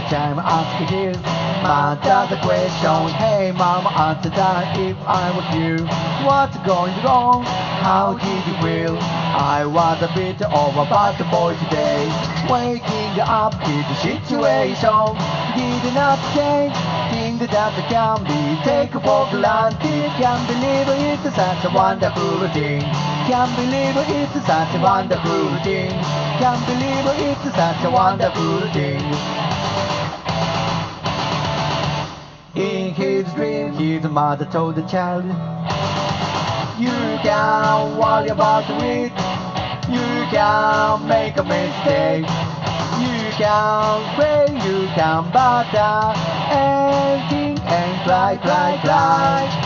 time asking his mother the question. Hey mama, answer that if I was you. What's going wrong? How did you feel? I was a bit of a bad boy today. Waking up in the situation did not change. Things that can be taken for granted. Can't believe it's such a wonderful thing. Can't believe it's such a wonderful thing. Can't believe it's such a wonderful thing. In his dream, his mother told the child, you can't worry about it. You can make a mistake. You can pray, you can bother anything and cry, cry, cry.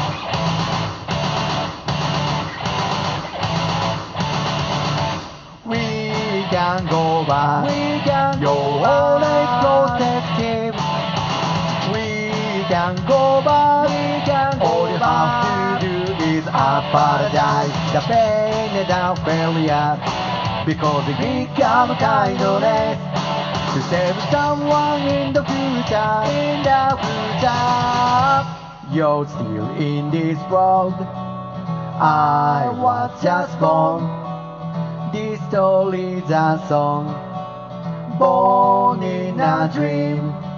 We can go back. We can You're always protective. We can go back. We can All you have to do is apologize. The pain and the failure, because it become kindness to save someone in the future. In the future, you're still in this world. I was just born. This story's a song, born in a dream.